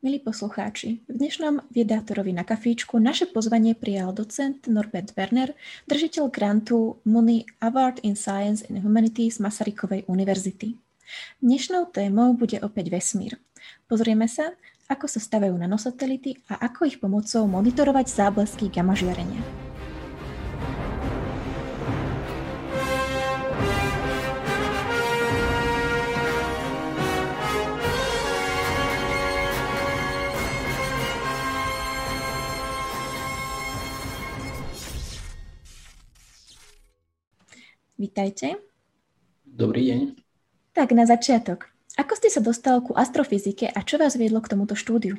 Milí poslucháči, v dnešnom Viedátorovi na kafíčku naše pozvanie prijal docent Norbert Werner, držiteľ grantu Money Award in Science and Humanities Masarykovej univerzity. Dnešnou témou bude opäť vesmír. Pozrieme sa, ako sa stavajú nanosatelity a ako ich pomocou monitorovať záblesky gamma žiarenia. Vítajte. Dobrý deň. Tak na začiatok. Ako ste sa dostal ku astrofyzike a čo vás viedlo k tomuto štúdiu?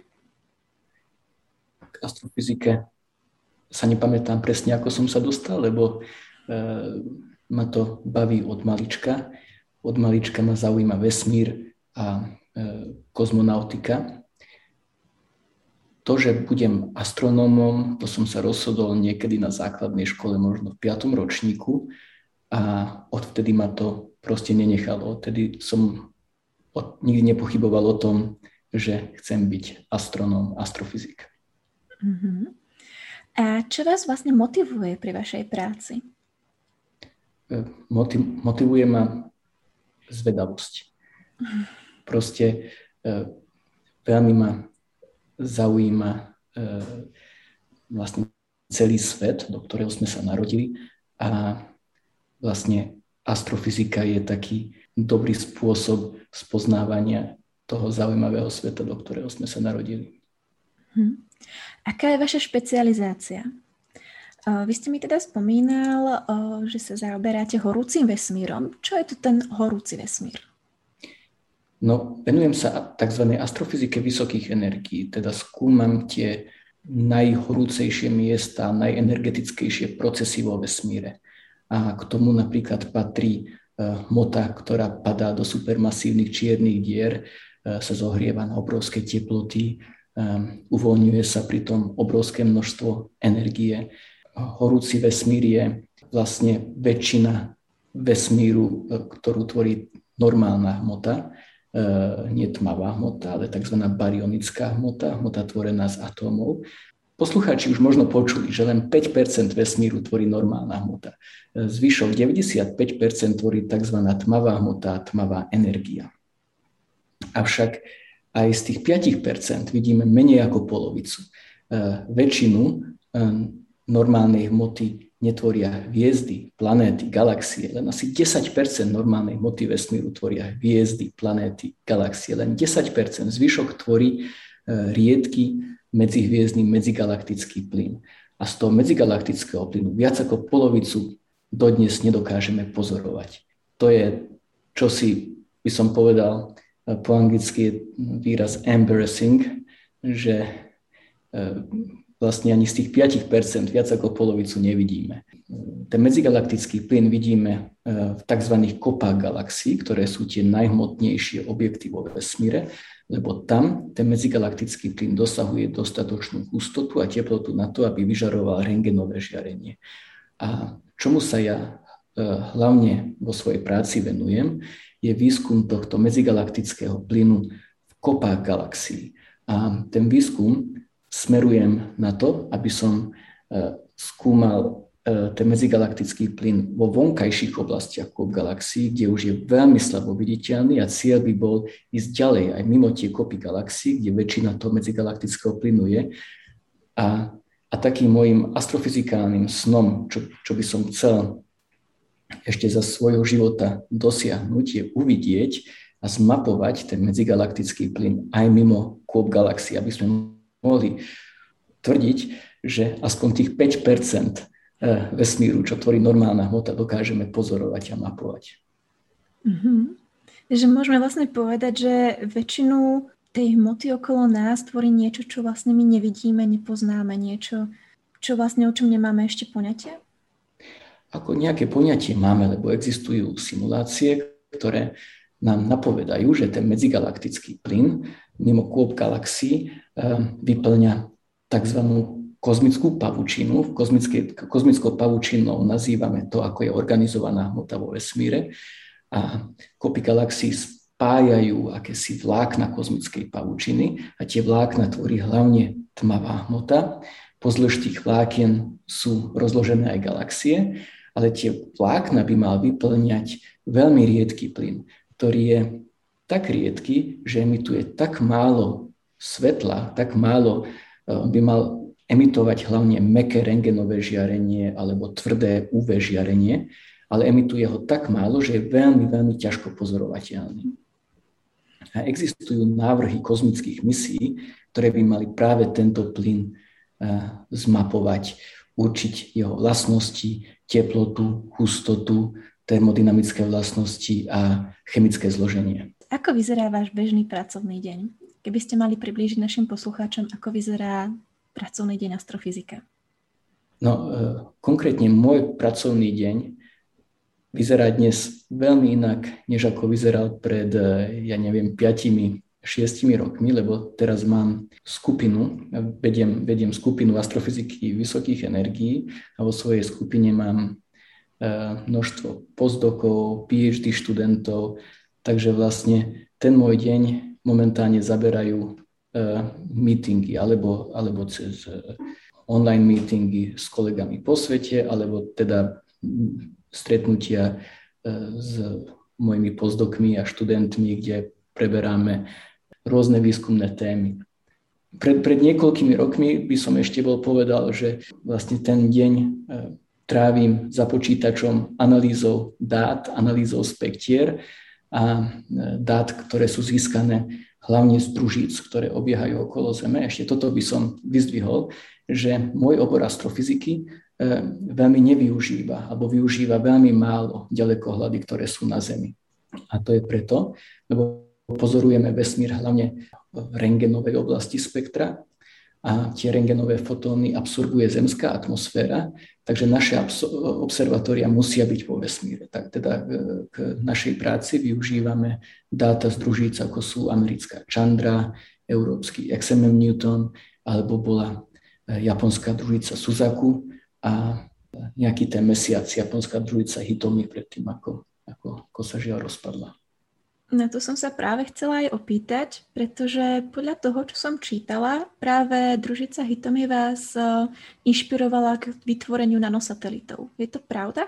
K astrofyzike sa nepamätám presne, ako som sa dostal, lebo ma to baví od malička. Od malička ma zaujíma vesmír a kozmonautika. To, že budem astronómom, to som sa rozhodol niekedy na základnej škole, možno v 5. ročníku. A odvtedy ma to proste nenechalo. Odtedy som nikdy nepochyboval o tom, že chcem byť astronóm, astrofyzik. Uh-huh. A čo vás vlastne motivuje pri vašej práci? Motivuje ma zvedavosť. Proste veľmi ma zaujíma vlastne celý svet, do ktorého sme sa narodili, a vlastne astrofyzika je taký dobrý spôsob spoznávania toho zaujímavého sveta, do ktorého sme sa narodili. Aká je vaša špecializácia? Vy ste mi teda spomínal, že sa zaoberáte horúcim vesmírom. Čo je to ten horúci vesmír? No, venujem sa tzv. Astrofyzike vysokých energií, teda skúmam tie najhorúcejšie miesta, najenergetickejšie procesy vo vesmíre. A k tomu napríklad patrí hmota, ktorá padá do supermasívnych čiernych dier, sa zohrieva na obrovské teploty, uvoľňuje sa pritom obrovské množstvo energie. Horúci vesmír je vlastne väčšina vesmíru, ktorú tvorí normálna hmota, nie tmavá hmota, ale tzv. Baryonická hmota, hmota tvorená z atómov. Poslucháči už možno počuli, že len 5% vesmíru tvorí normálna hmota. Zvyšok 95% tvorí tzv. Tmavá hmota, tmavá energia. Avšak aj z tých 5% vidíme menej ako polovicu. Väčšinu normálnej hmoty netvoria hviezdy, planéty, galaxie. Len asi 10% normálnej hmoty vesmíru tvoria hviezdy, planéty, galaxie. Len 10%. Zvyšok tvorí riedky medzihviezdny medzigalaktický plyn. A z toho medzigalaktického plynu viac ako polovicu dodnes nedokážeme pozorovať. To je, čo si by som povedal, po anglicky je výraz embarrassing, že vlastne ani z tých 5% viac ako polovicu nevidíme. Ten medzigalaktický plyn vidíme v tzv. Kopách galaxií, ktoré sú tie najhmotnejšie objekty vo vesmíre, lebo tam ten medzigalaktický plyn dosahuje dostatočnú hustotu a teplotu na to, aby vyžaroval rentgenové žiarenie. A čomu sa ja hlavne vo svojej práci venujem, je výskum tohto medzigalaktického plynu v kopách galaxií. A ten výskum smerujem na to, aby som skúmal ten medzigalaktický plyn vo vonkajších oblastiach kop galaxií, kde už je veľmi slabo viditeľný a cieľ by bol ísť ďalej aj mimo tie kopy galaxií, kde väčšina toho medzigalaktického plynu je. A takým môjim astrofyzikálnym snom, čo by som chcel ešte za svojho života dosiahnuť, je uvidieť a zmapovať ten medzigalaktický plyn aj mimo kôp galaxií, aby sme mohli tvrdiť, že aspoň tých 5% vesmíru, čo tvorí normálna hmota, dokážeme pozorovať a mapovať. Takže môžeme vlastne povedať, že väčšinu tej hmoty okolo nás tvorí niečo, čo vlastne my nevidíme, nepoznáme, niečo, čo vlastne o čom nemáme ešte poňatie? Ako nejaké poňatie máme, lebo existujú simulácie, ktoré nám napovedajú, že ten medzigalaktický plyn mimo kôp galaxií vyplňa tzv. Kozmickú pavučinu. Kozmickou pavučinou nazývame to, ako je organizovaná hmota vo vesmíre. A kopy galaxií spájajú akési vlákna kozmickej pavučiny a tie vlákna tvorí hlavne tmavá hmota. Pozdĺž tých vlákien sú rozložené aj galaxie, ale tie vlákna by mal vyplňať veľmi riedky plyn, ktorý je tak riedky, že emituje tak málo svetla, tak málo by mal emitovať hlavne mäkké rentgenové žiarenie alebo tvrdé UV žiarenie, ale emituje ho tak málo, že je veľmi, veľmi ťažko pozorovateľný. A existujú návrhy kozmických misií, ktoré by mali práve tento plyn zmapovať, určiť jeho vlastnosti, teplotu, hustotu, termodynamické vlastnosti a chemické zloženie. Ako vyzerá váš bežný pracovný deň? Keby ste mali priblížiť našim poslucháčom, ako vyzerá pracovný deň astrofyzika? No, konkrétne môj pracovný deň vyzerá dnes veľmi inak, než ako vyzeral pred, 5-6 rokmi, lebo teraz mám skupinu, vediem skupinu astrofyziky vysokých energií a vo svojej skupine mám množstvo postdokov, PhD študentov, takže vlastne ten môj deň momentálne zaberajú meetingy alebo cez online meetingy s kolegami po svete, alebo teda stretnutia s mojimi postdokmi a študentmi, kde preberáme rôzne výskumné témy. Pred niekoľkými rokmi by som ešte povedal, že vlastne ten deň trávim za počítačom analýzou dát, analýzou spektier a dát, ktoré sú získané hlavne z družíc, ktoré obiehajú okolo Zeme. Ešte toto by som vyzdvihol, že môj obor astrofyziky veľmi nevyužíva alebo využíva veľmi málo ďalekohľady, ktoré sú na Zemi. A to je preto, lebo pozorujeme vesmír hlavne v rentgenovej oblasti spektra a tie rentgenové fotóny absorbuje zemská atmosféra, takže naše observatória musia byť vo vesmíre. Tak teda k našej práci využívame dáta z družíc, ako sú americká Chandra, európsky XMM Newton, alebo bola japonská družica Suzaku a nejaký ten mesiac japonská družica Hitomi predtým, ako sa žiaľ rozpadla. Na to som sa práve chcela aj opýtať, pretože podľa toho, čo som čítala, práve družica Hitomi vás inšpirovala k vytvoreniu nanosatelitov. Je to pravda?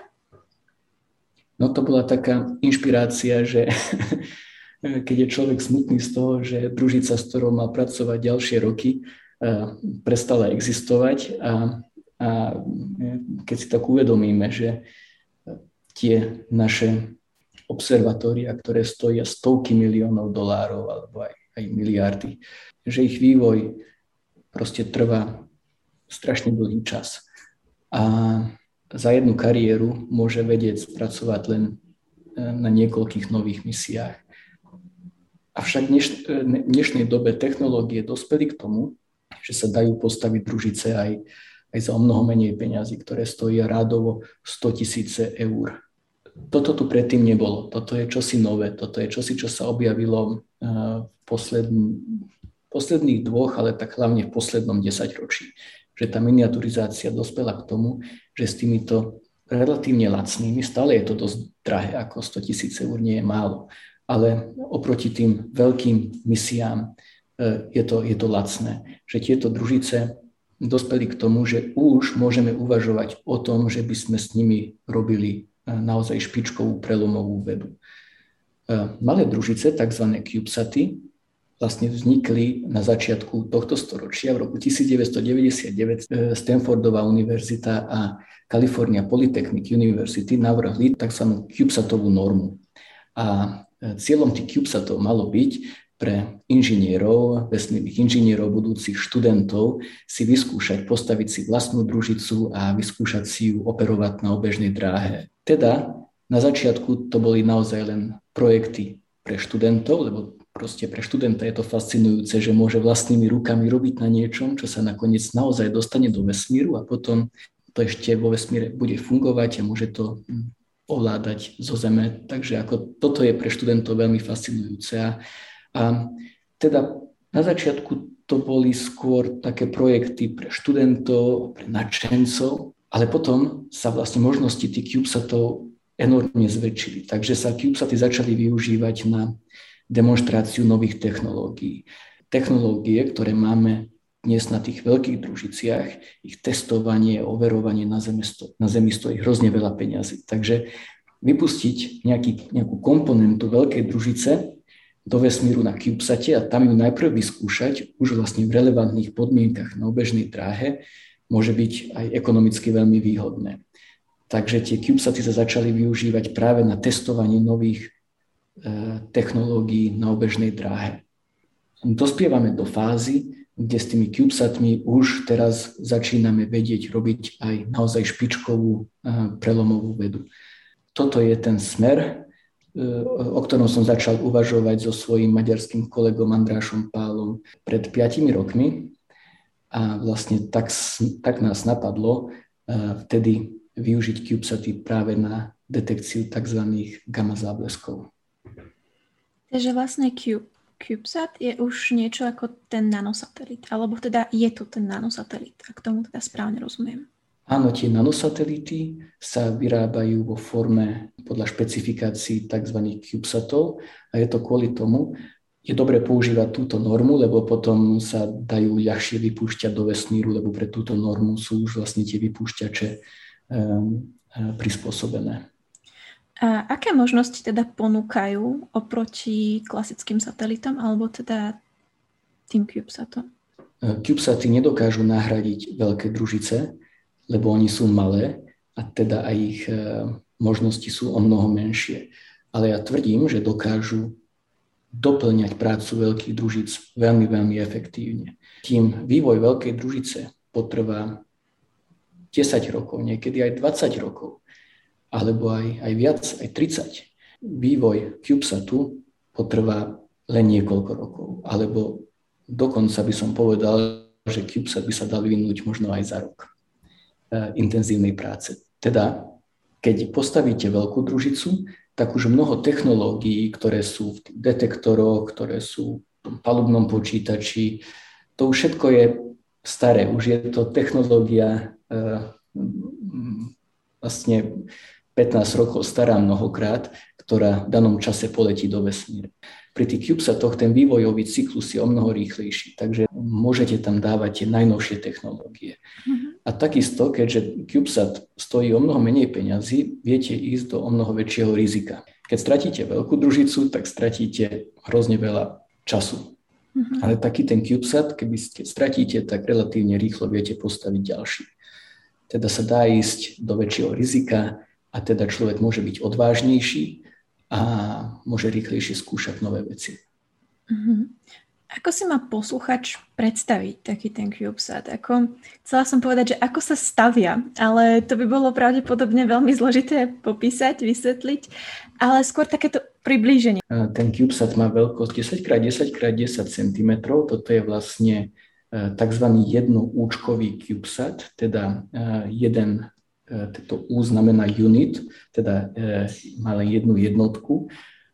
No to bola taká inšpirácia, že keď je človek smutný z toho, že družica, s ktorou mal pracovať ďalšie roky, prestala existovať a keď si tak uvedomíme, že tie naše observatória, ktoré stoja stovky miliónov dolárov alebo aj miliardy, že ich vývoj proste trvá strašne dlhý čas. A za jednu kariéru môže vedieť spracovať len na niekoľkých nových misiách. Avšak v dnešnej dobe technológie dospeli k tomu, že sa dajú postaviť družice aj za o mnoho menej peňazí, ktoré stoja rádovo 100 000 eur. Toto tu predtým nebolo. Toto je čosi nové. Toto je čosi, čo sa objavilo v posledných 2, ale tak hlavne v poslednom 10-ročí. Že tá miniaturizácia dospela k tomu, že s týmito relatívne lacnými, stále je to dosť drahé, ako 100 000 eur nie je málo, ale oproti tým veľkým misiám je to lacné. Že tieto družice dospeli k tomu, že už môžeme uvažovať o tom, že by sme s nimi robili naozaj špičkovú prelomovú vedu. Malé družice, tzv. CubeSaty, vlastne vznikli na začiatku tohto storočia. V roku 1999 Stanfordová univerzita a California Polytechnic University navrhli tzv. CubeSatovú normu. A cieľom tých CubeSatov malo byť pre inžinierov, vesmírnych inžinierov, budúcich študentov si vyskúšať, postaviť si vlastnú družicu a vyskúšať si ju operovať na obežnej dráhe. Teda na začiatku to boli naozaj len projekty pre študentov, lebo proste pre študenta je to fascinujúce, že môže vlastnými rukami robiť na niečom, čo sa nakoniec naozaj dostane do vesmíru a potom to ešte vo vesmíre bude fungovať a môže to ovládať zo Zeme. Takže ako toto je pre študentov veľmi fascinujúce. A teda na začiatku to boli skôr také projekty pre študentov, pre nadšencov, ale potom sa vlastne možnosti tých CubeSatov enormne zväčšili. Takže sa CubeSaty začali využívať na demonstráciu nových technológií. Technológie, ktoré máme dnes na tých veľkých družiciach, ich testovanie, overovanie na Zemi stojí hrozne veľa peňazí. Takže vypustiť nejakú komponentu veľkej družice do vesmíru na CubeSate a tam ju najprv vyskúšať už vlastne v relevantných podmienkach na obežnej dráhe môže byť aj ekonomicky veľmi výhodné. Takže tie CubeSaty sa začali využívať práve na testovanie nových technológií na obežnej dráhe. Dospievame do fázy, kde s tými CubeSatmi už teraz začíname vedieť robiť aj naozaj špičkovú prelomovú vedu. Toto je ten smer, o ktorom som začal uvažovať so svojím maďarským kolegom Andrášom Pálom pred 5 rokmi. A vlastne tak nás napadlo vtedy využiť CubeSaty práve na detekciu tzv. Gamma zábleskov. Takže vlastne CubeSat je už niečo ako ten nanosatelit, alebo teda je to ten nanosatelit, ak tomu teda správne rozumiem. Áno, tie nanosatelity sa vyrábajú vo forme podľa špecifikácií tzv. CubeSatov a je to kvôli tomu, je dobre používať túto normu, lebo potom sa dajú ľahšie vypúšťať do vesmíru, lebo pre túto normu sú už vlastne tie vypúšťače prispôsobené. A aké možnosti teda ponúkajú oproti klasickým satelitom alebo teda tým CubeSatom? CubeSaty nedokážu nahradiť veľké družice, lebo oni sú malé a teda aj ich možnosti sú o mnoho menšie. Ale ja tvrdím, že dokážu doplňať prácu veľkých družíc veľmi, veľmi efektívne. Tým vývoj veľkej družice potrvá 10 rokov, niekedy aj 20 rokov, alebo aj viac, aj 30. Vývoj CubeSatu potrvá len niekoľko rokov, alebo dokonca by som povedal, že CubeSat by sa dal vyvinúť možno aj za rok intenzívnej práce. Teda, keď postavíte veľkú družicu, tak už mnoho technológií, ktoré sú v tých detektoroch, ktoré sú v tom palubnom počítači, to už všetko je staré. Už je to technológia vlastne 15 rokov stará mnohokrát, ktorá v danom čase poletí do vesmíru. Pri tých CubeSatoch ten vývojový cyklus je o mnoho rýchlejší, takže môžete tam dávať tie najnovšie technológie. A takisto, keďže CubeSat stojí o mnoho menej peňazí, viete ísť do o mnoho väčšieho rizika. Keď stratíte veľkú družicu, tak stratíte hrozne veľa času. Ale taký ten CubeSat, keď stratíte, tak relatívne rýchlo viete postaviť ďalší. Teda sa dá ísť do väčšieho rizika a teda človek môže byť odvážnejší a môže rýchlejšie skúšať nové veci. Ako si má posluchač predstaviť taký ten CubeSat? Chcela som povedať, že ako sa stavia, ale to by bolo pravdepodobne veľmi zložité popísať, vysvetliť, ale skôr takéto priblíženie. Ten CubeSat má veľkosť 10x10x10 cm, toto je vlastne tzv. Jednoúčkový CubeSat, teda jeden, toto U znamená unit, teda má len jednu jednotku,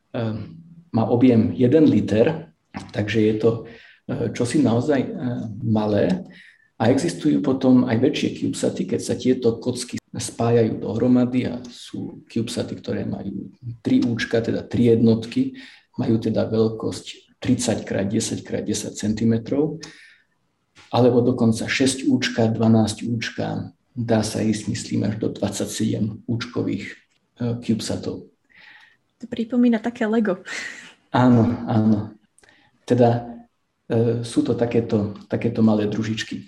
má objem 1 liter, takže je to čosi naozaj malé a existujú potom aj väčšie CubeSaty, keď sa tieto kocky spájajú dohromady a sú CubeSaty, ktoré majú 3 účka, teda 3 jednotky, majú teda veľkosť 30x10x10 cm, alebo dokonca 6 účka, 12 účka, dá sa ísť, myslím, až do 27 účkových CubeSatov. To pripomína také Lego. Áno, áno. Teda sú to takéto malé družičky.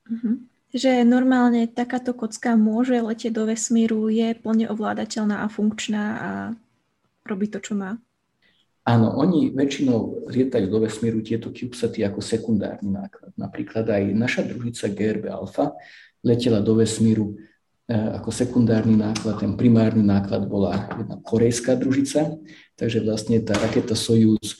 Že normálne takáto kocka môže letieť do vesmíru, je plne ovládateľná a funkčná a robí to, čo má. Áno, oni väčšinou lietajú do vesmíru tieto CubeSaty ako sekundárny náklad. Napríklad aj naša družica GRB Alpha letela do vesmíru ako sekundárny náklad. Ten primárny náklad bola jedna korejská družica, takže vlastne tá raketa Sojuz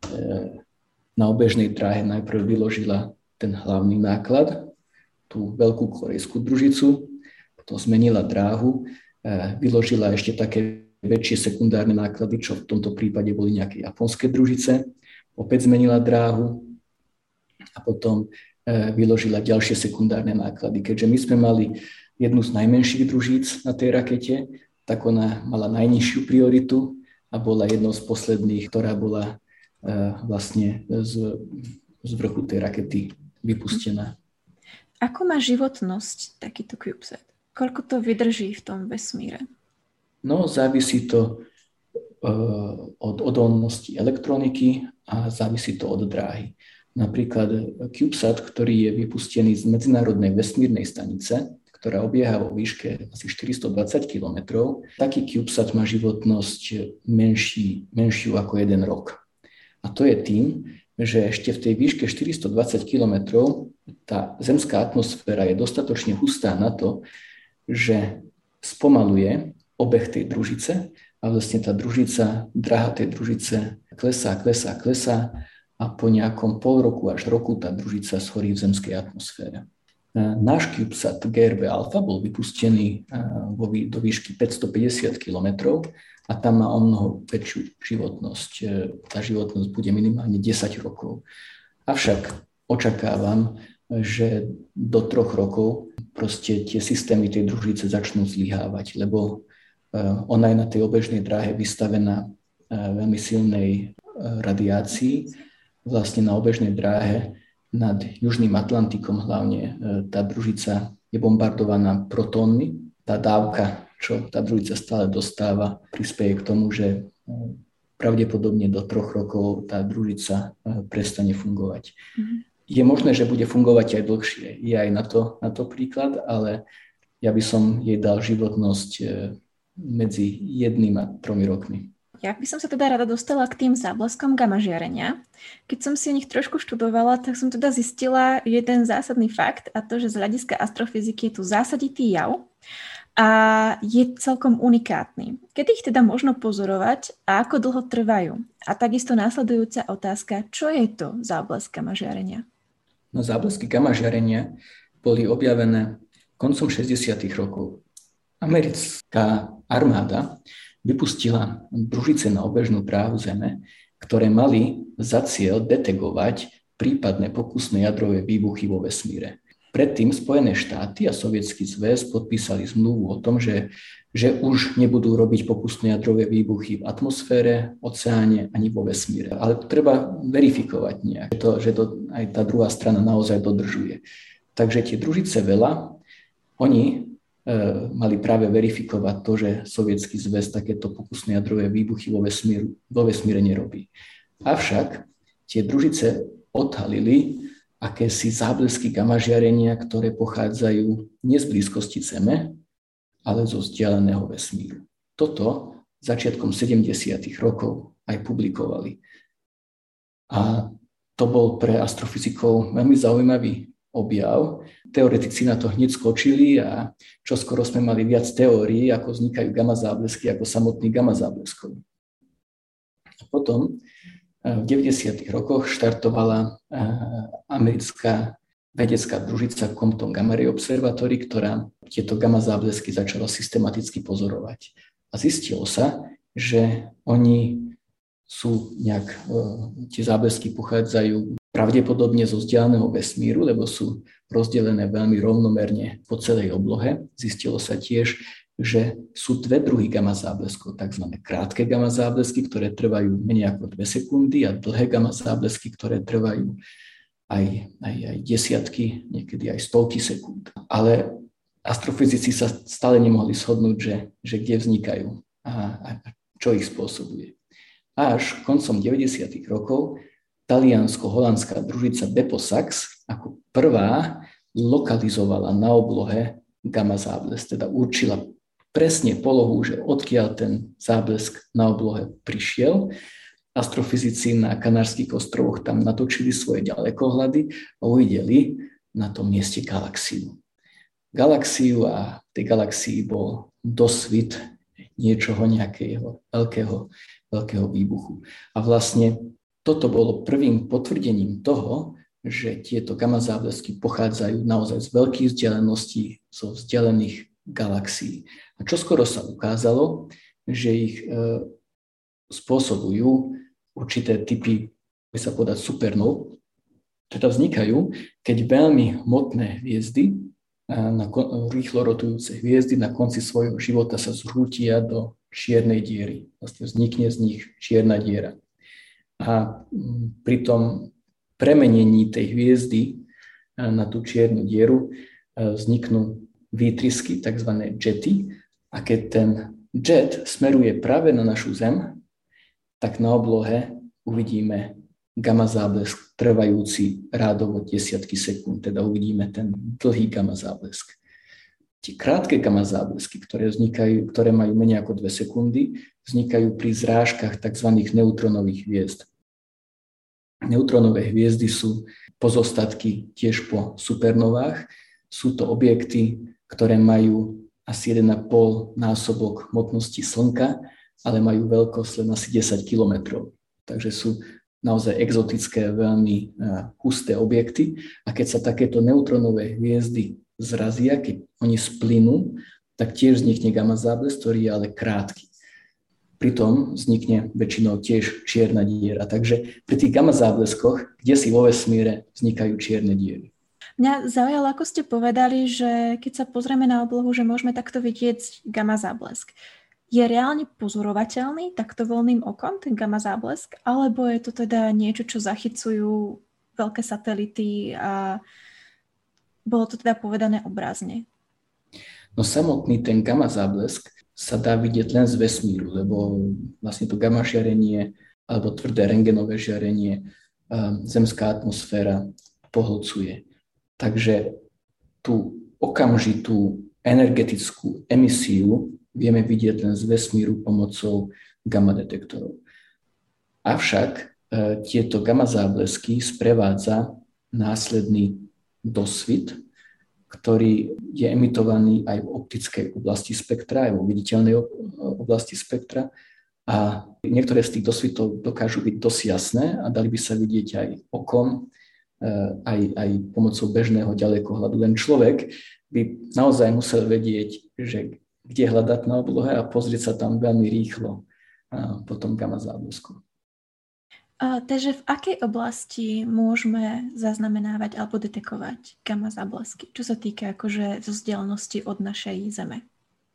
na obežnej dráhe najprv vyložila ten hlavný náklad, tú veľkú korejskú družicu, potom zmenila dráhu, vyložila ešte také väčšie sekundárne náklady, čo v tomto prípade boli nejaké japonské družice, opäť zmenila dráhu a potom vyložila ďalšie sekundárne náklady. Keďže my sme mali jednu z najmenších družíc na tej rakete, tak ona mala najnižšiu prioritu a bola jednou z posledných, ktorá bola vlastne z vrchu tej rakety vypustená. Ako má životnosť takýto CubeSat? Koľko to vydrží v tom vesmíre? No, závisí to od odolnosti elektroniky a závisí to od dráhy. Napríklad CubeSat, ktorý je vypustený z Medzinárodnej vesmírnej stanice, ktorá obieha vo výške asi 420 km, taký CubeSat má životnosť menšiu ako 1 rok. A to je tým, že ešte v tej výške 420 km tá zemská atmosféra je dostatočne hustá na to, že spomaluje obeh tej družice a vlastne tá družica, dráha tej družice klesá a po nejakom pol roku až roku tá družica schorí v zemskej atmosfére. Náš CubeSat GRB Alpha bol vypustený do výšky 550 km a tam má o mnoho väčšiu životnosť. Tá životnosť bude minimálne 10 rokov. Avšak očakávam, že do 3 rokov proste tie systémy tej družice začnú zlyhávať, lebo ona je na tej obežnej dráhe vystavená veľmi silnej radiácii. Vlastne na obežnej dráhe nad Južným Atlantikom hlavne tá družica je bombardovaná protónmi. Tá dávka, čo tá družica stále dostáva, prispieje k tomu, že pravdepodobne do 3 rokov tá družica prestane fungovať. Je možné, že bude fungovať aj dlhšie. Je aj na to príklad, ale ja by som jej dal životnosť medzi 1 a 3 rokmi. Ja by som sa teda rada dostala k tým zábleskom gamma žiarenia. Keď som si o nich trošku študovala, tak som teda zistila jeden zásadný fakt, a to, že z hľadiska astrofyziky je tu zásaditý jav a je celkom unikátny. Kedy ich teda možno pozorovať a ako dlho trvajú? A takisto následujúca otázka, čo je to záblesk gamma žiarenia? No, záblesky gamma žiarenia boli objavené koncom 60. rokov. Americká armáda vypustila družice na obežnú dráhu Zeme, ktoré mali za cieľ detegovať prípadné pokusné jadrové výbuchy vo vesmíre. Predtým Spojené štáty a Sovietsky zväz podpísali zmluvu o tom, že už nebudú robiť pokusné jadrové výbuchy v atmosfére, oceáne ani vo vesmíre. Ale to treba verifikovať nejak, že to aj tá druhá strana naozaj dodržuje. Takže tie družice veľa, oni mali práve verifikovať to, že Sovietsky zväz takéto pokusné jadrové výbuchy vo vesmíre nerobí. Avšak tie družice odhalili akési záblesky gamma žiarenia, ktoré pochádzajú nie z blízkosti Zeme, ale zo vzdialeného vesmíru. Toto začiatkom 70. rokov aj publikovali. A to bol pre astrofyzikov veľmi zaujímavý objav. Teoretici na to hneď skočili a čoskoro sme mali viac teórií, ako vznikajú gamma záblesky, ako samotný gamma zábleskov. A potom v 90. rokoch štartovala americká vedecká družica Compton Gamma Ray Observatory, ktorá tieto gamma záblesky začala systematicky pozorovať. A zistilo sa, že oni sú tie záblesky pochádzajú pravdepodobne zo vzdialeného vesmíru, lebo sú rozdelené veľmi rovnomerne po celej oblohe. Zistilo sa tiež, že sú 2 druhy gamma zábleskov, tzv. Krátke gamma záblesky, ktoré trvajú menej ako 2 sekundy a dlhé gamma záblesky, ktoré trvajú aj desiatky, niekedy aj stovky sekúnd. Ale astrofyzici sa stále nemohli shodnúť, že kde vznikajú a čo ich spôsobuje. Až koncom 90. rokov taliansko-holandská družica Bepo-Sax ako prvá lokalizovala na oblohe gamma záblesk, teda určila presne polohu, že odkiaľ ten záblesk na oblohe prišiel. Astrofyzici na Kanárskych ostrovoch tam natočili svoje ďalekohľady a uvideli na tom mieste galaxiu. A v tej galaxii bol dosvit niečoho, nejakého veľkého výbuchu. A vlastne toto bolo prvým potvrdením toho, že tieto gamma záblesky pochádzajú naozaj z veľkých vzdialeností, zo vzdialených galaxií. A čoskoro sa ukázalo, že ich spôsobujú určité typy, by sa povedať, supernov, teda vznikajú, keď veľmi hmotné hviezdy, rýchlo rotujúce hviezdy na konci svojho života sa zrútia do čiernej diery. Vlastne vznikne z nich čierna diera. A pri tom premenení tej hviezdy na tú čiernu dieru vzniknú výtrysky, tzv. Jety. A keď ten jet smeruje práve na našu Zem, tak na oblohe uvidíme gamma záblesk trvajúci rádovo desiatky sekúnd, teda uvidíme ten dlhý gamma záblesk. Tie krátke gamma záblesky, ktoré majú menej ako 2 sekundy, vznikajú pri zrážkach tzv. Neutronových hviezd. Neutronové hviezdy sú pozostatky tiež po supernovách. Sú to objekty, ktoré majú asi 1,5 násobok hmotnosti Slnka, ale majú veľkosť len asi 10 kilometrov. Takže sú naozaj exotické, veľmi husté objekty. A keď sa takéto neutronové hviezdy zrazia, keď oni splynú, tak tiež vznikne gamma záblesk, ktorý je ale krátky. Pritom vznikne väčšinou tiež čierna diera. Takže pri tých gamma zábleskoch, kde si vo vesmíre, vznikajú čierne diery. Mňa zaujalo, ako ste povedali, že keď sa pozrieme na oblohu, že môžeme takto vidieť gamma záblesk. Je reálne pozorovateľný takto voľným okom, ten gamma záblesk? Alebo je to teda niečo, čo zachycujú veľké satelity a bolo to teda povedané obrazne? No samotný ten gamma záblesk sa dá vidieť len z vesmíru, lebo vlastne to gamma žiarenie alebo tvrdé rentgenové žiarenie zemská atmosféra pohlcuje. Takže tú okamžitú energetickú emisiu vieme vidieť len z vesmíru pomocou gamma detektorov. Avšak tieto gamma záblesky sprevádza následný dosvit, ktorý je emitovaný aj v optickej oblasti spektra, aj vo viditeľnej oblasti spektra. A niektoré z tých dosvitov dokážu byť dosť jasné a dali by sa vidieť aj okom, aj pomocou bežného ďalekohľadu. Len človek by naozaj musel vedieť, že kde hľadať na oblohe a pozrieť sa tam veľmi rýchlo po tom gamma záblesku. Takže v akej oblasti môžeme zaznamenávať alebo detekovať gamma záblesky? Čo sa týka akože vzdialenosti od našej Zeme?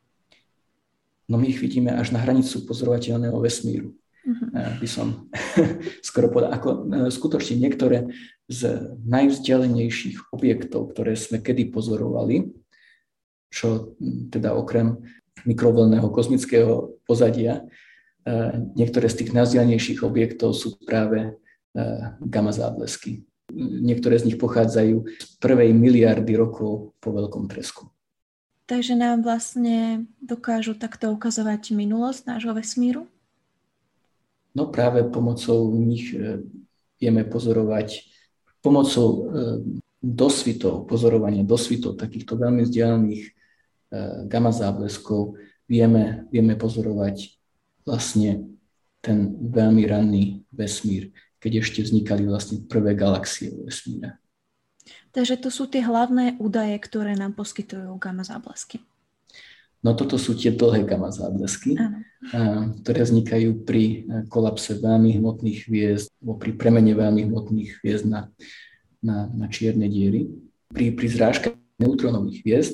No my ich vidíme až na hranicu pozorovateľného vesmíru. By som skoro povedal. Skutočne niektoré z najvzdialenejších objektov, ktoré sme kedy pozorovali, čo teda okrem mikrovlnného kozmického pozadia, niektoré z tých najvzdialenejších objektov sú práve gamma záblesky. Niektoré z nich pochádzajú z prvej miliardy rokov po veľkom tresku. Takže nám vlastne dokážu takto ukazovať minulosť nášho vesmíru? No práve pomocou nich vieme pozorovať, pomocou dosvitov, pozorovania dosvitov takýchto veľmi vzdialených gamma zábleskov vieme pozorovať vlastne ten veľmi ranný vesmír, keď ešte vznikali vlastne prvé galaxie vo vesmíre. Takže to sú tie hlavné údaje, ktoré nám poskytujú gamma záblesky. No toto sú tie dlhé gamma záblesky, ktoré vznikajú pri kolapse veľmi hmotných hviezd, alebo pri premene veľmi hmotných hviezd na čierne diery. Pri zrážke neutronových hviezd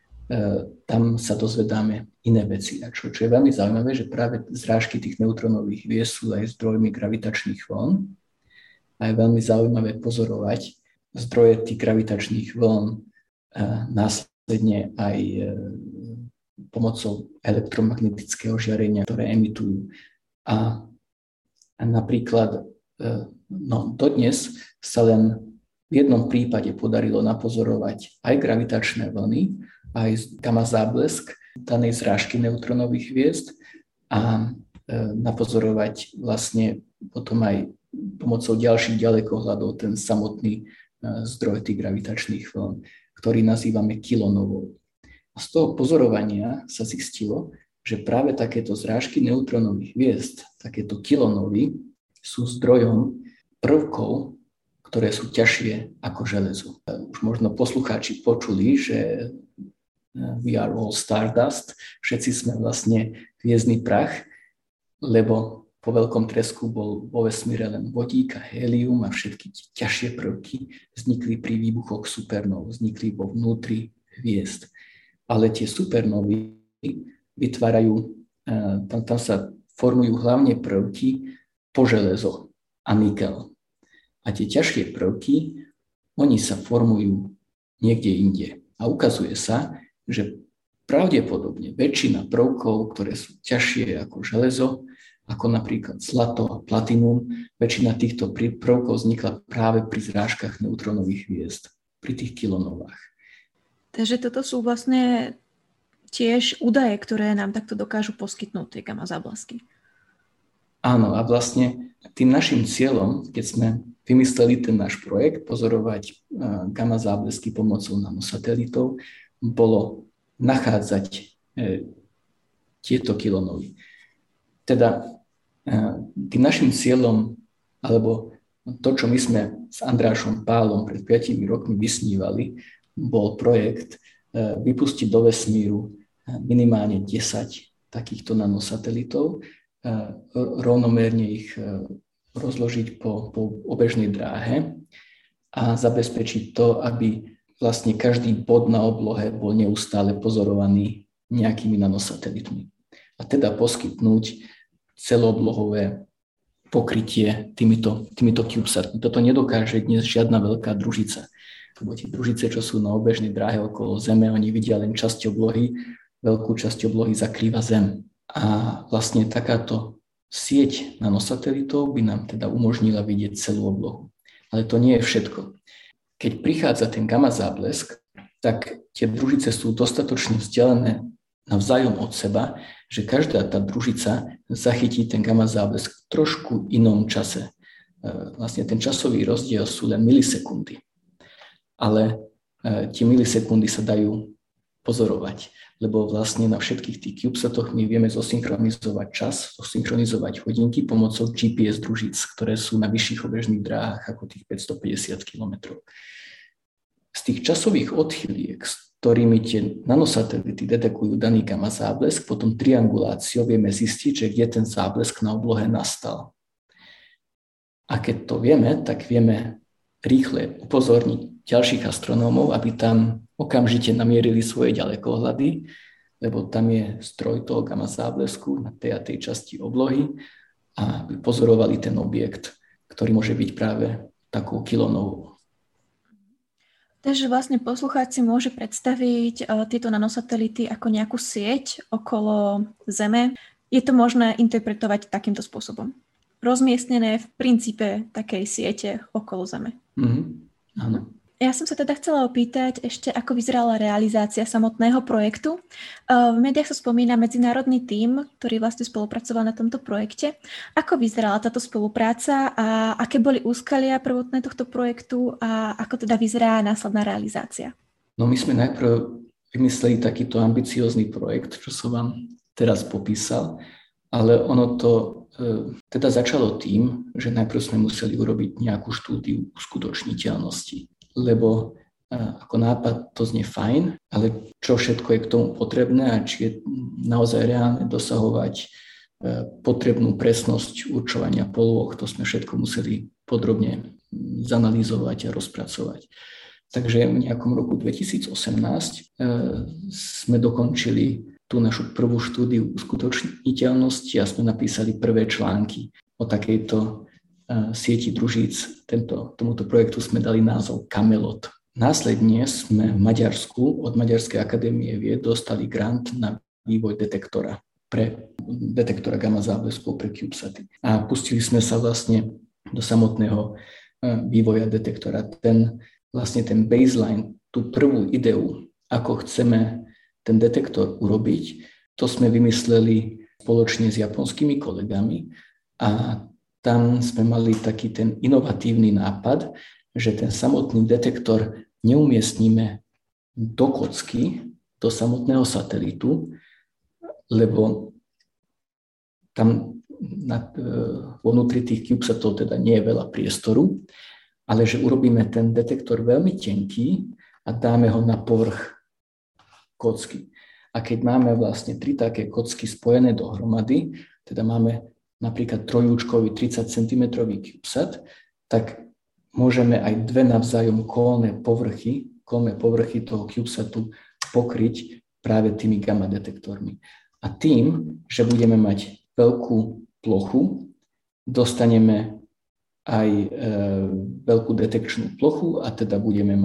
tam sa dozvedáme iné veci. A čo je veľmi zaujímavé, že práve zrážky tých neutronových hviezd sú aj zdrojmi gravitačných vln. A je veľmi zaujímavé pozorovať zdroje tých gravitačných vln následne aj pomocou elektromagnetického žiarenia, ktoré emitujú. A napríklad dodnes sa len v jednom prípade podarilo napozorovať aj gravitačné vlny, aj gamma záblesk danej zrážky neutronových hviezd a napozorovať vlastne potom aj pomocou ďalších ďalekohľadov ten samotný zdroj tých gravitačných vln, ktorý nazývame kilonovou. A z toho pozorovania sa zistilo, že práve takéto zrážky neutronových hviezd, takéto kilonovy, sú zdrojom prvkov, ktoré sú ťažšie ako železo. Už možno poslucháči počuli, že we are all stardust, všetci sme vlastne hviezdny prach, lebo po veľkom tresku bol vo vesmíre len vodík a hélium a všetky ťažšie prvky vznikli pri výbuchoch supernov, vznikli vo vnútri hviezd. Ale tie supernovy vytvárajú, tam sa formujú hlavne prvky po železo. a nikel. A tie ťažšie prvky, oni sa formujú niekde inde. A ukazuje sa, že pravdepodobne väčšina prvkov, ktoré sú ťažšie ako železo, ako napríklad zlato a platinum, väčšina týchto prvkov vznikla práve pri zrážkach neutrónových hviezd, pri tých kilonovách. Takže toto sú vlastne tiež údaje, ktoré nám takto dokážu poskytnúť tie gamma záblesky. Áno, a vlastne tým našim cieľom, keď sme vymysleli ten náš projekt, pozorovať gamma záblesky pomocou nanosatelitov, bolo nachádzať tieto kilonovy. Teda tým našim cieľom, alebo to, čo my sme s Andrášom Pálom pred 5 rokmi vysnívali, bol projekt vypustiť do vesmíru minimálne 10 takýchto nanosatelitov, rovnomerne ich rozložiť po obežnej dráhe a zabezpečiť to, aby vlastne každý bod na oblohe bol neustále pozorovaný nejakými nanosatelitmi. A teda poskytnúť celooblohové pokrytie týmito CubeSatmi. Toto nedokáže dnes žiadna veľká družica. Lebo tie družice, čo sú na obežnej dráhe okolo Zeme, oni vidia len časť oblohy, veľkú časť oblohy zakrýva Zem. A vlastne takáto sieť nanosatelitov by nám teda umožnila vidieť celú oblohu. Ale to nie je všetko. Keď prichádza ten gamma záblesk, tak tie družice sú dostatočne vzdialené navzájom od seba, že každá tá družica zachytí ten gamma záblesk v trošku inom čase. Vlastne ten časový rozdiel sú len milisekundy. Ale tie milisekundy sa dajú pozorovať, lebo vlastne na všetkých tých CubeSatoch my vieme zosynchronizovať čas, zosynchronizovať hodinky pomocou GPS družíc, ktoré sú na vyšších obežných dráhach ako tých 550 km. Z tých časových odchyliek, s ktorými tie nanosatelity detekujú daný gamma záblesk, potom trianguláciou vieme zistiť, že kde ten záblesk na oblohe nastal. A keď to vieme, tak vieme rýchle upozorniť ďalších astronómov, aby tam okamžite namierili svoje ďalekohľady, lebo tam je stroj toho gamma záblesku na tej a tej časti oblohy a aby pozorovali ten objekt, ktorý môže byť práve takou kilonovou. Takže vlastne poslucháč si môže predstaviť tieto nanosatelity ako nejakú sieť okolo Zeme. Je to možné interpretovať takýmto spôsobom? Rozmiestnené v princípe takej siete okolo Zeme. Áno. Ja som sa teda chcela opýtať ešte, ako vyzerala realizácia samotného projektu. V médiách sa spomína medzinárodný tím, ktorý vlastne spolupracoval na tomto projekte. Ako vyzerala táto spolupráca a aké boli úskalia prvotné tohto projektu a ako teda vyzerá následná realizácia? No my sme najprv vymysleli takýto ambiciózny projekt, čo som vám teraz popísal, ale ono to teda začalo tým, že najprv sme museli urobiť nejakú štúdiu uskutočniteľnosti. Lebo ako nápad to znie fajn, ale čo všetko je k tomu potrebné a či je naozaj reálne dosahovať potrebnú presnosť určovania polôch, to sme všetko museli podrobne zanalýzovať a rozpracovať. Takže v nejakom roku 2018 sme dokončili tú našu prvú štúdiu uskutočniteľnosti a sme napísali prvé články o takejto sieti družíc. Tomuto projektu sme dali názov Camelot. Následne sme v Maďarsku od Maďarskej akadémie vied dostali grant na vývoj detektora gamma zábleskov pre CubeSaty. A pustili sme sa vlastne do samotného vývoja detektora. Ten baseline, tú prvú ideu, ako chceme ten detektor urobiť, to sme vymysleli spoločne s japonskými kolegami a tam sme mali taký ten inovatívny nápad, že ten samotný detektor neumiestnime do kocky, do samotného satelitu, lebo tam vo vnútri tých CubeSatov teda nie je veľa priestoru, ale že urobíme ten detektor veľmi tenký a dáme ho na povrch kocky. A keď máme vlastne 3 také kocky spojené dohromady, teda máme napríklad trojúčkový 30 cm CubeSat, tak môžeme aj 2 navzájom kolné povrchy toho CubeSatu pokryť práve tými gamma detektormi. A tým, že budeme mať veľkú plochu, dostaneme aj veľkú detekčnú plochu a teda budeme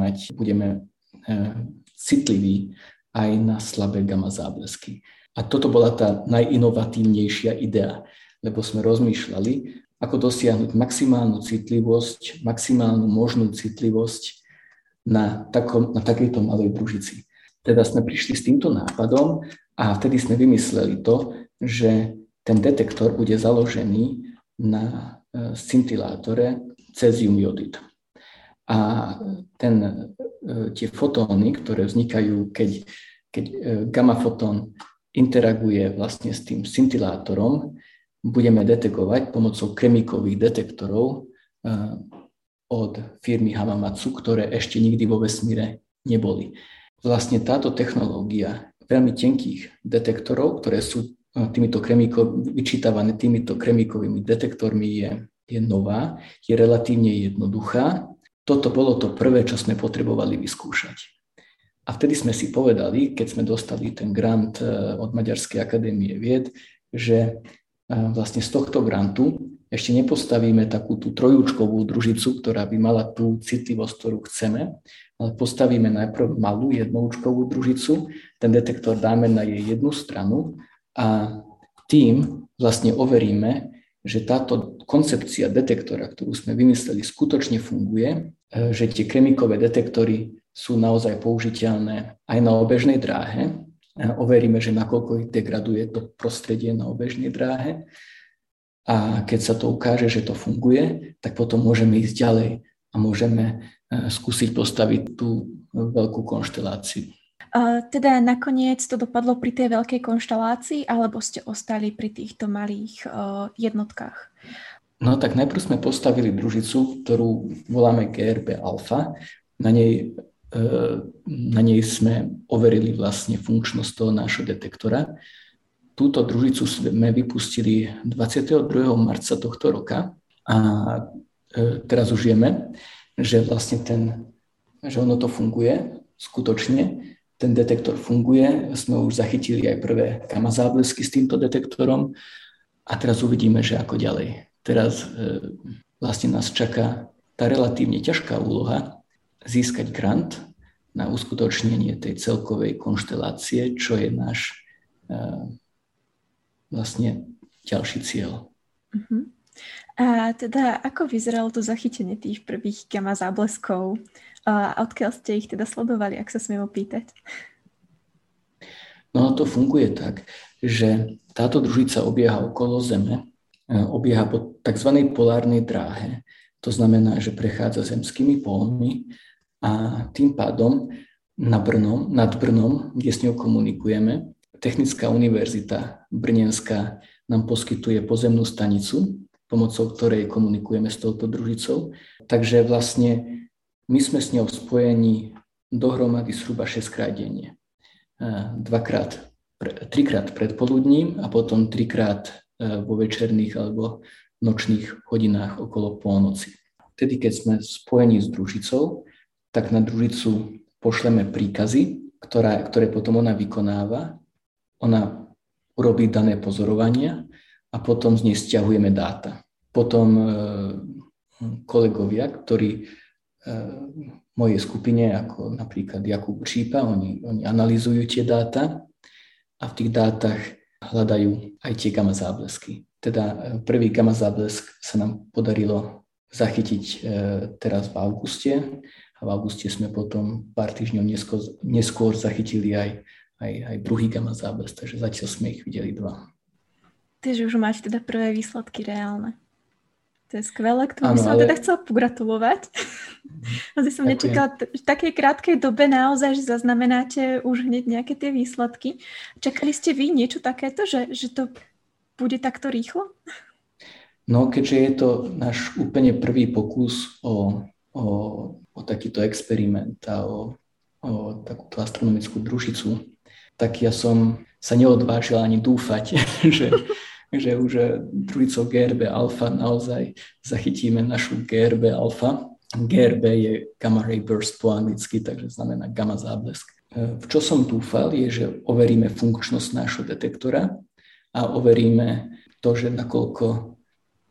citliví aj na slabé gamma záblesky. A toto bola tá najinovatívnejšia idea, lebo sme rozmýšľali, ako dosiahnuť maximálnu citlivosť, maximálnu možnú citlivosť na takejto malej družici. Teda sme prišli s týmto nápadom a vtedy sme vymysleli to, že ten detektor bude založený na scintilátore cézium jodid. A tie fotóny, ktoré vznikajú, keď gamma fotón interaguje vlastne s tým scintilátorom, budeme detekovať pomocou kremíkových detektorov od firmy Hamamatsu, ktoré ešte nikdy vo vesmíre neboli. Vlastne táto technológia veľmi tenkých detektorov, ktoré sú vyčítavané týmito kremíkovými detektormi, je nová, je relatívne jednoduchá. Toto bolo to prvé, čo sme potrebovali vyskúšať. A vtedy sme si povedali, keď sme dostali ten grant od Maďarskej akadémie vied, že vlastne z tohto grantu ešte nepostavíme takú tú trojúčkovú družicu, ktorá by mala tú citlivosť, ktorú chceme, ale postavíme najprv malú jednoúčkovú družicu, ten detektor dáme na jej jednu stranu a tým vlastne overíme, že táto koncepcia detektora, ktorú sme vymysleli, skutočne funguje, že tie kremíkové detektory sú naozaj použiteľné aj na obežnej dráhe. Overíme, že nakoľko ich degraduje to prostredie na obežnej dráhe. A keď sa to ukáže, že to funguje, tak potom môžeme ísť ďalej a môžeme skúsiť postaviť tú veľkú konšteláciu. Teda nakoniec to dopadlo pri tej veľkej konštelácii, alebo ste ostali pri týchto malých jednotkách? No tak najprv sme postavili družicu, ktorú voláme GRB alfa. Na nej sme overili vlastne funkčnosť toho nášho detektora. Túto družicu sme vypustili 22. marca tohto roka a teraz už vieme, že vlastne že ono to funguje skutočne. Ten detektor funguje, sme už zachytili aj prvé gamma záblesky s týmto detektorom a teraz uvidíme, že ako ďalej. Teraz vlastne nás čaká tá relatívne ťažká úloha získať grant na uskutočnenie tej celkovej konštelácie, čo je náš vlastne ďalší cieľ. Uh-huh. A teda ako vyzeralo to zachytenie tých prvých gamma zábleskov? A odkiaľ ste ich teda sledovali, ak sa smiem opýtať? No to funguje tak, že táto družica obieha okolo Zeme, obieha po tzv. Polárnej dráhe. To znamená, že prechádza zemskými pólmi a tým pádom nad Brnom, kde s ňou komunikujeme, Technická univerzita Brnenská nám poskytuje pozemnú stanicu, pomocou ktorej komunikujeme s touto družicou. Takže vlastne my sme s ňou spojení dohromady zhruba 6-krát denne. 3-krát predpoludním a potom 3-krát vo večerných alebo nočných hodinách okolo polnoci. Vtedy, keď sme spojení s družicou, tak na družicu pošleme príkazy, ktoré potom ona vykonáva. Ona urobí dané pozorovania a potom z nej stiahujeme dáta. Potom kolegovia, ktorí v mojej skupine, ako napríklad Jakub Čípa, oni analyzujú tie dáta a v tých dátach hľadajú aj tie gamma záblesky. Teda prvý gamma záblesk sa nám podarilo zachytiť teraz v auguste a v auguste sme potom pár týždňov neskôr zachytili aj druhý gamma záblesk, takže zatiaľ sme ich videli 2. Takže už máte teda prvé výsledky reálne. To je skvelé, k tomu by som teda chcela pogratulovať. Asi som nečakala v takej krátkej dobe naozaj, že zaznamenáte už hneď nejaké tie výsledky. Čakali ste vy niečo takéto, že to bude takto rýchlo? No, keďže je to náš úplne prvý pokus o takýto experiment a o takúto astronomickú družicu, tak ja som sa neodvážil ani dúfať, že už družicou GRB alfa naozaj zachytíme našu GRB alfa. GRB je gamma ray burst po anglicky, takže znamená gamma záblesk. V čo som dúfal je, že overíme funkčnosť nášho detektora a overíme to, že nakoľko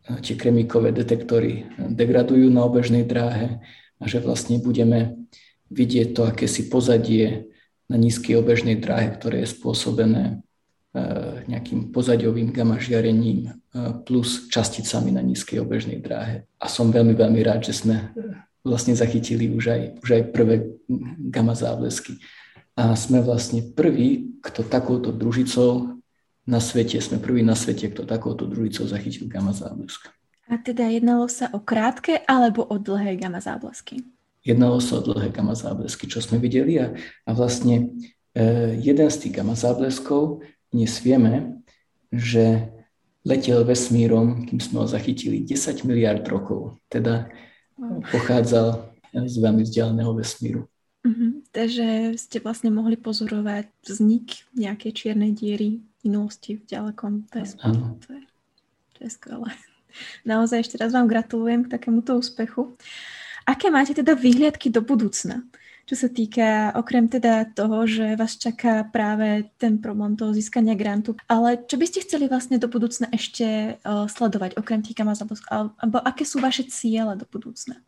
tie kremíkové detektory degradujú na obežnej dráhe a že vlastne budeme vidieť to akési pozadie na nízkej obežnej dráhe, ktoré je spôsobené nejakým pozadiovým gamma žiarením plus časticami na nízkej obežnej dráhe. A som veľmi, veľmi rád, že sme vlastne zachytili už aj prvé gamma záblesky. A sme vlastne prví, kto takouto družicou na svete, kto takouto družicou zachytil gamma záblesk. A teda jednalo sa o krátke alebo o dlhé gamma záblesky? Jednalo sa o dlhé gamma záblesky, čo sme videli a vlastne jeden z tých gamma zábleskov dnes vieme, že letel vesmírom, kým sme ho zachytili 10 miliard rokov, teda pochádzal z veľmi vzdialeného vesmíru. Takže ste vlastne mohli pozorovať vznik nejakej čiernej diery v minulosti v ďalekom vesmíru. To je skvelé. Naozaj ešte raz vám gratulujem k takémuto úspechu. Aké máte teda výhliadky do budúcna? Čo sa týka, okrem teda toho, že vás čaká práve ten problém toho získania grantu, ale čo by ste chceli vlastne do budúcna ešte sledovať, okrem tých gamma zábleskov, alebo aké sú vaše ciele do budúcna?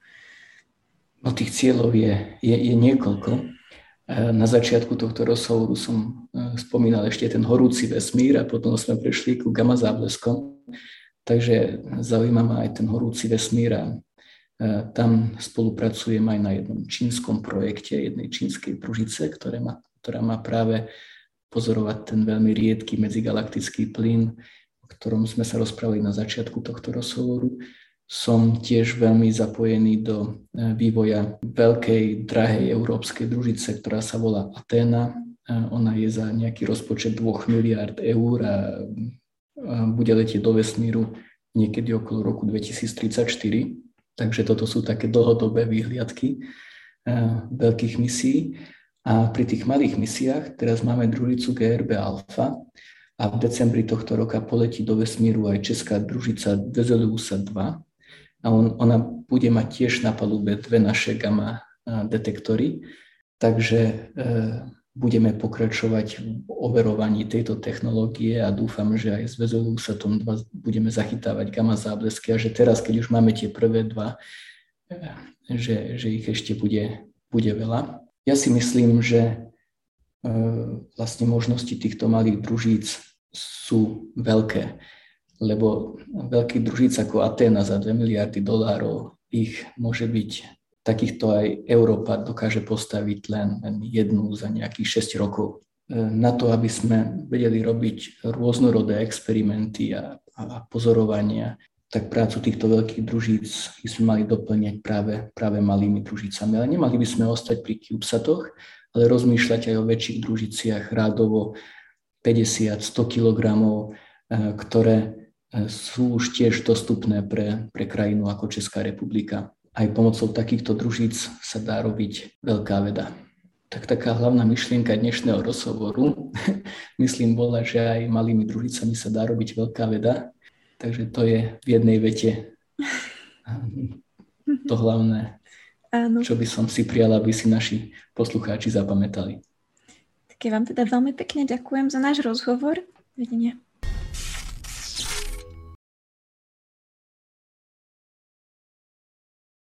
No tých cieľov je niekoľko. Na začiatku tohto rozhovoru som spomínal ešte ten horúci vesmír a potom sme prešli ku gamma zábleskom. Takže zaujíma ma aj ten horúci vesmír a tam spolupracujem aj na jednom čínskom projekte, jednej čínskej družice, ktorá má práve pozorovať ten veľmi riedky medzigalaktický plyn, o ktorom sme sa rozprávali na začiatku tohto rozhovoru. Som tiež veľmi zapojený do vývoja veľkej, drahej európskej družice, ktorá sa volá Athena. Ona je za nejaký rozpočet 2 miliárd eur a bude letieť do vesmíru niekedy okolo roku 2034. Takže toto sú také dlhodobé výhliadky veľkých misií. A pri tých malých misiách teraz máme družicu GRB Alpha a v decembri tohto roka poletí do vesmíru aj česká družica Veseleusa 2 a ona bude mať tiež na palube 2 naše gamma detektory. Takže budeme pokračovať v overovaní tejto technológie a dúfam, že aj s Veseleusatom 2 budeme zachytávať gamma záblesky a že teraz, keď už máme tie prvé 2, že ich ešte bude veľa. Ja si myslím, že vlastne možnosti týchto malých družíc sú veľké, lebo veľkých družíc ako Athena za 2 miliardy dolárov ich môže byť. Takýchto aj Európa dokáže postaviť len jednu za nejakých 6 rokov. Na to, aby sme vedeli robiť rôznorodé experimenty a pozorovania, tak prácu týchto veľkých družíc sme mali doplňať práve malými družicami. Ale nemali by sme ostať pri CubeSatoch, ale rozmýšľať aj o väčších družiciach rádovo 50-100 kg, ktoré sú už tiež dostupné pre krajinu ako Česká republika. Aj pomocou takýchto družíc sa dá robiť veľká veda. Tak taká hlavná myšlienka dnešného rozhovoru, myslím, bola, že aj malými družicami sa dá robiť veľká veda. Takže to je v jednej vete to hlavné, čo by som si prijala, aby si naši poslucháči zapamätali. Tak ja vám teda veľmi pekne ďakujem za náš rozhovor. Videnia.